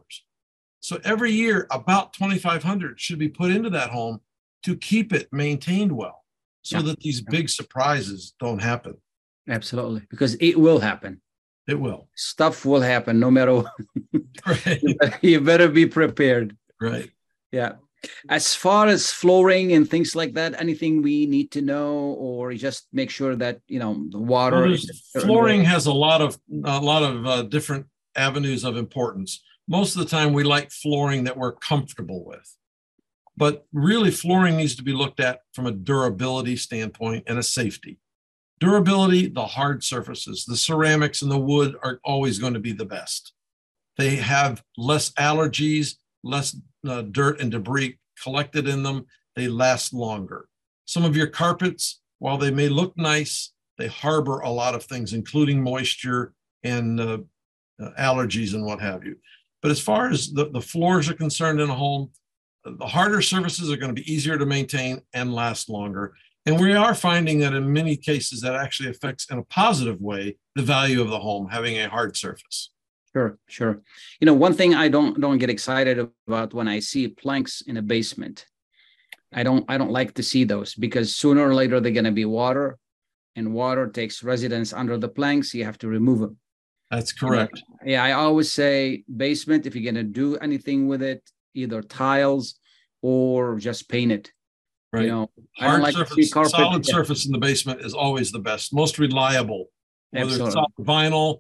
So every year, about $2,500 should be put into that home to keep it maintained well, so that these big surprises don't happen. Absolutely, because it will happen. It will. Stuff will happen no matter what. Right. You better be prepared. Right. Yeah. As far as flooring and things like that, anything we need to know, or just make sure that the water. Flooring has a lot of different avenues of importance. Most of the time, we like flooring that we're comfortable with, but really, flooring needs to be looked at from a durability standpoint and a safety. Durability, the hard surfaces, the ceramics and the wood are always going to be the best. They have less allergies, less dirt and debris collected in them. They last longer. Some of your carpets, while they may look nice, they harbor a lot of things, including moisture and allergies and what have you. But as far as the floors are concerned in a home, the harder surfaces are going to be easier to maintain and last longer. And we are finding that in many cases that actually affects in a positive way the value of the home, having a hard surface. Sure. One thing I don't get excited about when I see planks in a basement. I don't like to see those, because sooner or later they're going to be water, and water takes residence under the planks. You have to remove them. That's correct. I always say basement, if you're going to do anything with it, either tiles or just paint it. Right. Hard surface, solid surface in the basement is always the best, most reliable, whether it's solid vinyl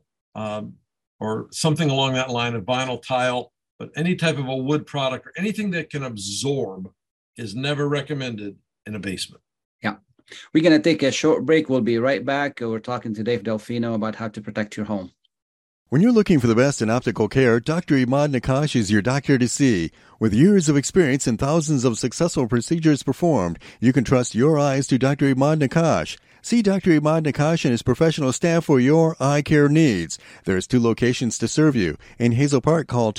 or something along that line of vinyl tile, but any type of a wood product or anything that can absorb is never recommended in a basement. Yeah. We're going to take a short break. We'll be right back. We're talking to Dave Delfino about how to protect your home. When you're looking for the best in optical care, Dr. Imad Nakash is your doctor to see. With years of experience and thousands of successful procedures performed, you can trust your eyes to Dr. Imad Nakash. See Dr. Imad Nakash and his professional staff for your eye care needs. There's 2 locations to serve you. In Hazel Park, call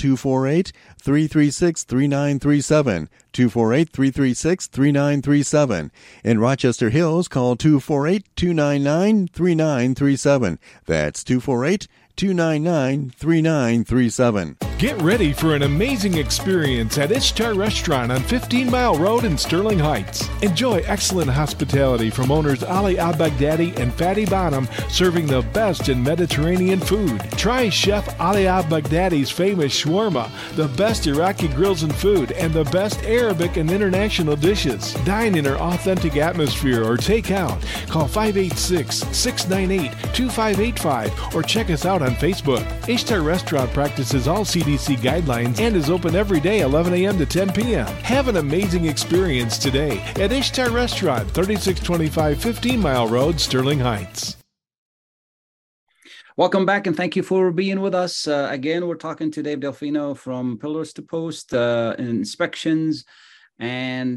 248-336-3937. 248-336-3937. In Rochester Hills, call 248-299-3937. That's 248-299-3937. Get ready for an amazing experience at Ishtar Restaurant on 15 Mile Road in Sterling Heights. Enjoy excellent hospitality from owners Ali Al-Baghdadi and Fatty Bonham, serving the best in Mediterranean food. Try Chef Ali Al-Baghdadi's famous shawarma, the best Iraqi grills and food, and the best Arabic and international dishes. Dine in our authentic atmosphere or take out. Call 586-698-2585 or check us out on Facebook. Ishtar Restaurant practices all CDC guidelines and is open every day 11 a.m. to 10 p.m. Have an amazing experience today at Ishtar Restaurant, 3625 15 Mile Road, Sterling Heights. Welcome back, and thank you for being with us. Again, we're talking to Dave Delfino from Pillars to Post Inspections. And,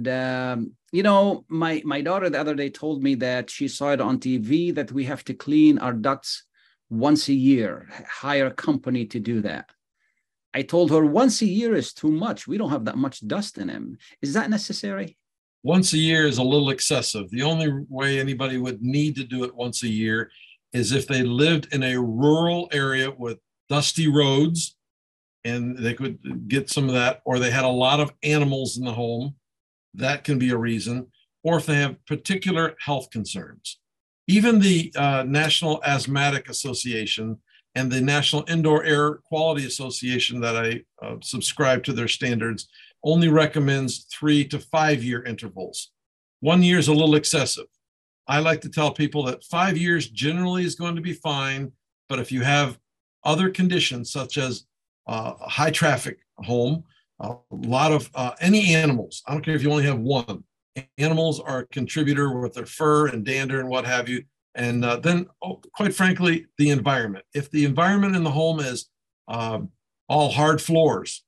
my daughter the other day told me that she saw it on TV that we have to clean our ducts once a year, hire a company to do that. I told her once a year is too much. We don't have that much dust in them. Is that necessary? Once a year is a little excessive. The only way anybody would need to do it once a year is if they lived in a rural area with dusty roads and they could get some of that, or they had a lot of animals in the home. That can be a reason. Or if they have particular health concerns. Even the National Asthmatic Association and the National Indoor Air Quality Association that I subscribe to their standards only recommends 3 to 5 year intervals. 1 year is a little excessive. I like to tell people that 5 years generally is going to be fine, but if you have other conditions such as a high traffic home, a lot of any animals, I don't care if you only have one, animals are a contributor with their fur and dander and what have you. And then, quite frankly, the environment. If the environment in the home is all hard floors,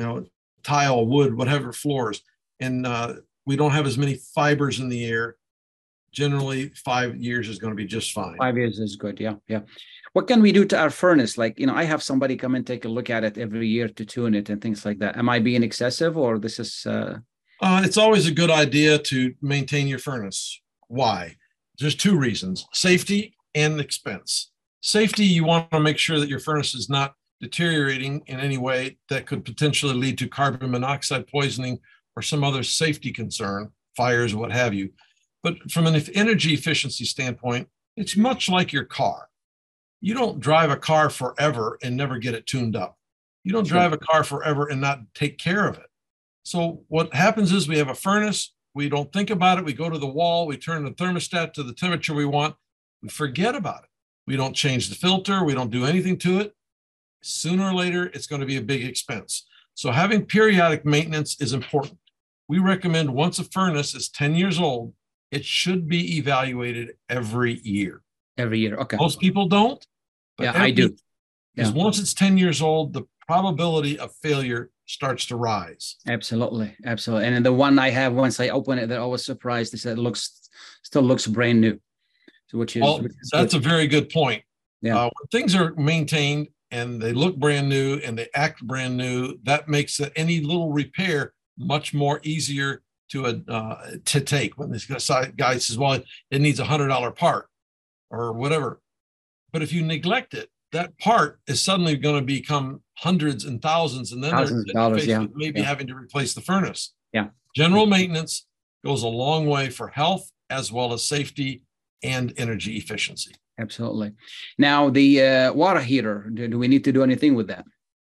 tile, wood, whatever floors, and we don't have as many fibers in the air, generally 5 years is going to be just fine. 5 years is good. Yeah. What can we do to our furnace? Like, I have somebody come and take a look at it every year to tune it and things like that. Am I being excessive, or this is... It's always a good idea to maintain your furnace. Why? There's 2 reasons: safety and expense. Safety, you want to make sure that your furnace is not deteriorating in any way that could potentially lead to carbon monoxide poisoning or some other safety concern, fires, what have you. But from an energy efficiency standpoint, it's much like your car. You don't drive a car forever and never get it tuned up. You don't drive a car forever and not take care of it. So what happens is we have a furnace, we don't think about it, we go to the wall, we turn the thermostat to the temperature we want, we forget about it. We don't change the filter, we don't do anything to it. Sooner or later, it's going to be a big expense. So having periodic maintenance is important. We recommend once a furnace is 10 years old, it should be evaluated every year. Every year, okay. Most people don't. But I do. Because once it's 10 years old, the probability of failure starts to rise. Absolutely. And then the one I have, once I open it, they're always surprised. They said it still looks brand new. So which is that's a very good point. Yeah. When things are maintained and they look brand new and they act brand new, that makes any little repair much more easier to take. When this guy says, well, it needs $100 part or whatever. But if you neglect it, that part is suddenly going to become hundreds and thousands, and then they're maybe having to replace the furnace. Yeah. General maintenance goes a long way for health as well as safety and energy efficiency. Absolutely. Now, the water heater, do we need to do anything with that?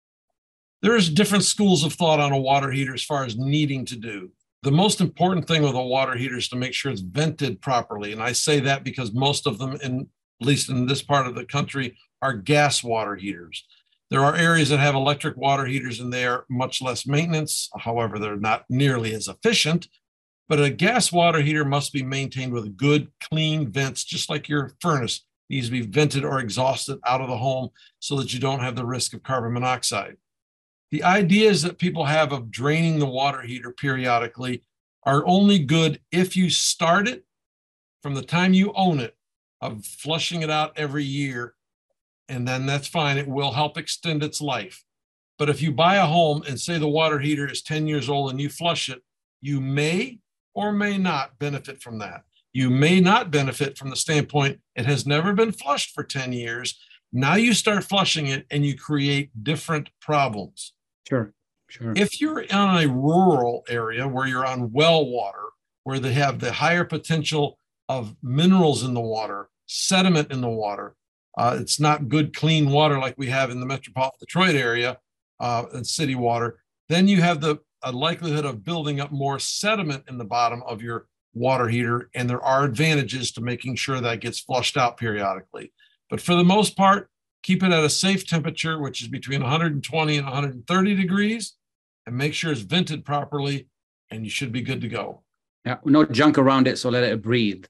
There's different schools of thought on a water heater as far as needing to do. The most important thing with a water heater is to make sure it's vented properly. And I say that because most of them, at least in this part of the country, are gas water heaters. There are areas that have electric water heaters and they are much less maintenance. However, they're not nearly as efficient. But a gas water heater must be maintained with good, clean vents, just like your furnace needs to be vented or exhausted out of the home so that you don't have the risk of carbon monoxide. The ideas that people have of draining the water heater periodically are only good if you start it from the time you own it, of flushing it out every year, and then that's fine. It will help extend its life. But if you buy a home and say the water heater is 10 years old and you flush it, you may or may not benefit from that. You may not benefit from the standpoint it has never been flushed for 10 years. Now you start flushing it and you create different problems. Sure. If you're in a rural area where you're on well water, where they have the higher potential of minerals in the water, sediment in the water, it's not good, clean water like we have in the metropolitan Detroit area and city water, then you have a likelihood of building up more sediment in the bottom of your water heater, and there are advantages to making sure that gets flushed out periodically. But for the most part, keep it at a safe temperature, which is between 120 and 130 degrees, and make sure it's vented properly, and you should be good to go. Yeah, no junk around it, so let it breathe.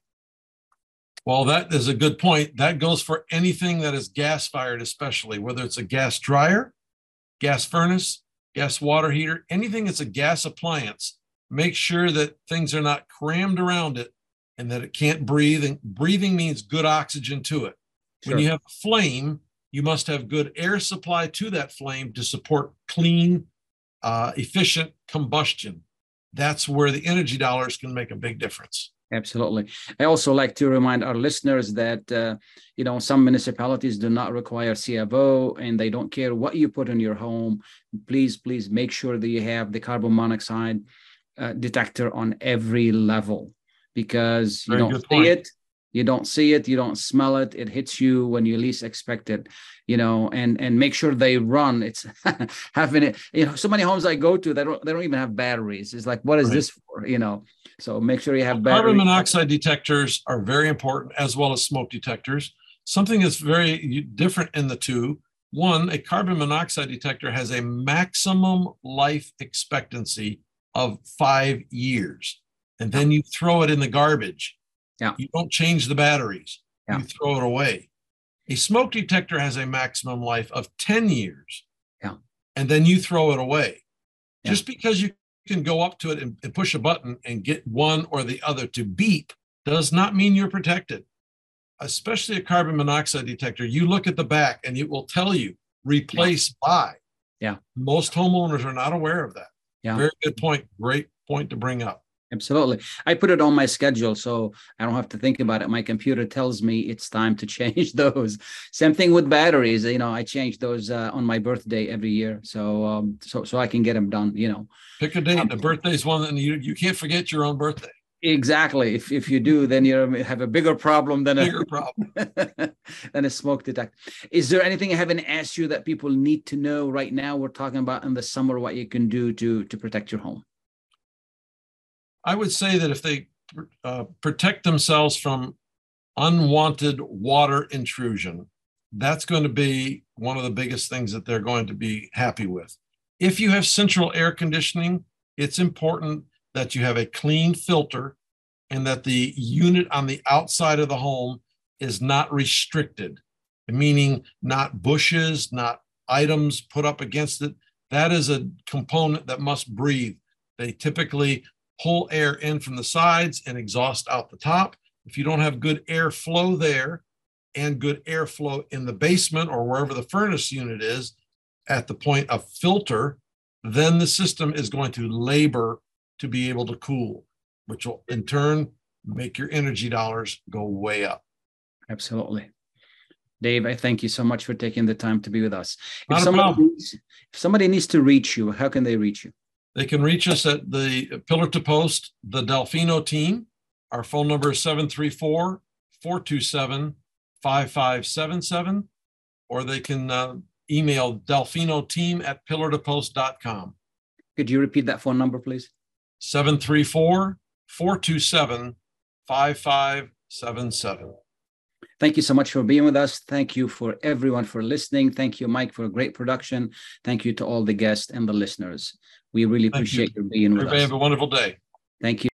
Well, that is a good point. That goes for anything that is gas-fired, especially, whether it's a gas dryer, gas furnace, gas water heater, anything that's a gas appliance. Make sure that things are not crammed around it and that it can't breathe. And breathing means good oxygen to it. When you have a flame, you must have good air supply to that flame to support clean, efficient combustion. That's where the energy dollars can make a big difference. Absolutely. I also like to remind our listeners that, some municipalities do not require CFO and they don't care what you put in your home. Please make sure that you have the carbon monoxide detector on every level, because you don't see it, you don't smell it. It hits you when you least expect it, and make sure they run. It's having it, so many homes I go to, they don't even have batteries. It's like, what is this for? So make sure you have batteries. Carbon monoxide detectors are very important, as well as smoke detectors. Something that's very different in the two. One, a carbon monoxide detector has a maximum life expectancy of 5 years, and then you throw it in the garbage. You don't change the batteries. You throw it away. A smoke detector has a maximum life of 10 years, and then you throw it away. Just because you can go up to it and push a button and get one or the other to beep does not mean you're protected. Especially a carbon monoxide detector, you look at the back and it will tell you replace by. Most homeowners are not aware of that. Very good point. Great point to bring up. Absolutely. I put it on my schedule so I don't have to think about it. My computer tells me it's time to change those. Same thing with batteries. I change those on my birthday every year. So I can get them done, Pick a date. The birthday is one that you can't forget your own birthday. Exactly. If you do, then you have a bigger problem than a smoke detector. Is there anything I haven't asked you that people need to know right now? We're talking about in the summer, what you can do to protect your home. I would say that if they protect themselves from unwanted water intrusion, that's going to be one of the biggest things that they're going to be happy with. If you have central air conditioning, it's important that you have a clean filter and that the unit on the outside of the home is not restricted, meaning not bushes, not items put up against it. That is a component that must breathe. They typically pull air in from the sides and exhaust out the top. If you don't have good airflow there and good airflow in the basement or wherever the furnace unit is at the point of filter, then the system is going to labor to be able to cool, which will in turn make your energy dollars go way up. Absolutely. Dave, I thank you so much for taking the time to be with us. If somebody needs to reach you, how can they reach you? They can reach us at the Pillar to Post, the Delfino team. Our phone number is 734-427-5577, or they can email delfinoteam@pillartopost.com. Could you repeat that phone number, please? 734-427-5577. Thank you so much for being with us. Thank you for everyone for listening. Thank you, Mike, for a great production. Thank you to all the guests and the listeners. We really appreciate you being with us. Everybody have a wonderful day. Thank you.